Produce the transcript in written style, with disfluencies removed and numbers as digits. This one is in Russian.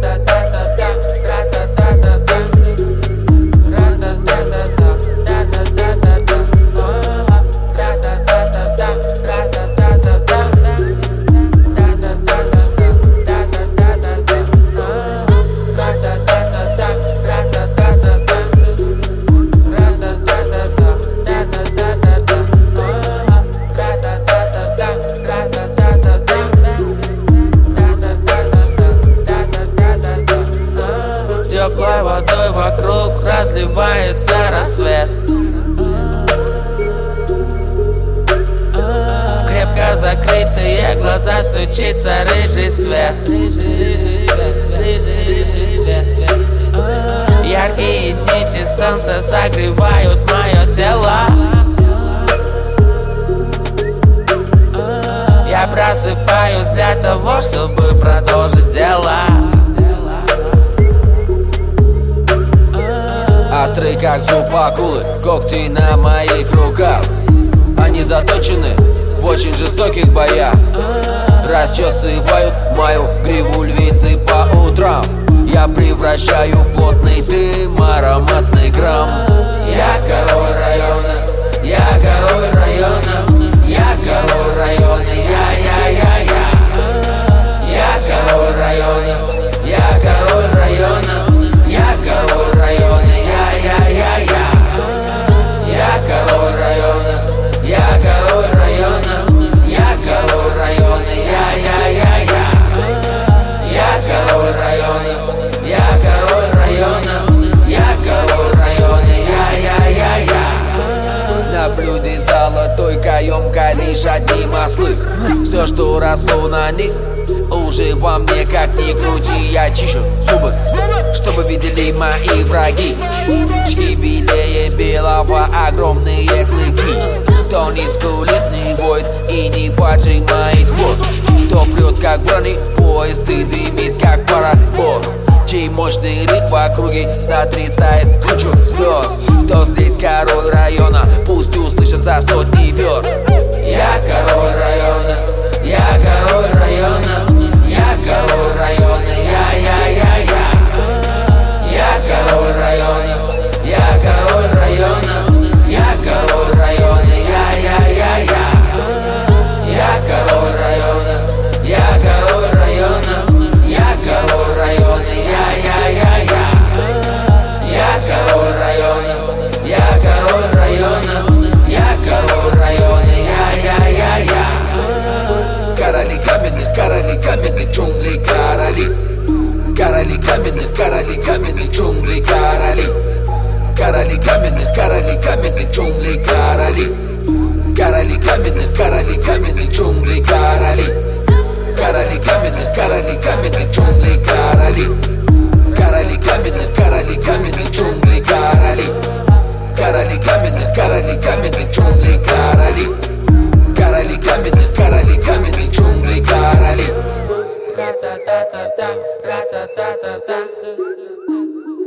Теплой водой вокруг разливается рассвет. В крепко закрытые глаза стучится рыжий свет. Яркие нити солнца согревают мое тело. Я просыпаюсь для того, чтобы продолжить дело. Острый как зуб акулы, когти на моих руках. Они заточены в очень жестоких боях. Расчесывают мою гриву львицы по утрам. Я превращаю в плотный дым ароматный грамм. Я король района, я король района, я король района, я. Я король района, я король района, я король района, я. Я король района, я король района, я король района, я. Я король района, я король района, я король района, я. На блюде золотой каемка лишь одни маслы. Все, что росло на них, уже во мне, как ни крути. Я чищу зубы, чтобы видели мои враги. Чки белее белого, огромные клыки. Кто не скулит, не воет и не поджимает хвост. Кто прет, как бронепоезд и дымит, как пароход. Чей мощный ритм в округе сотрясает кучу звезд. Кто здесь король района, пусть услышат за сотни верст. Я король района, я король района, я король района, я. Я король района, я король района, я король района, я. Я король района, я король района, я король района, я. Я король района, я король района, я король района, я. Короли каменных джунглей, короли. Короли каменных джунглей, короли. Короли каменных джунглей, короли. Короли каменных джунглей, короли. Короли каменных джунглей, короли. Короли каменных джунглей, короли. Короли каменных джунглей, короли. Короли каменных джунглей, короли. Ра-та-та-та-та, ра-та-та-та-та.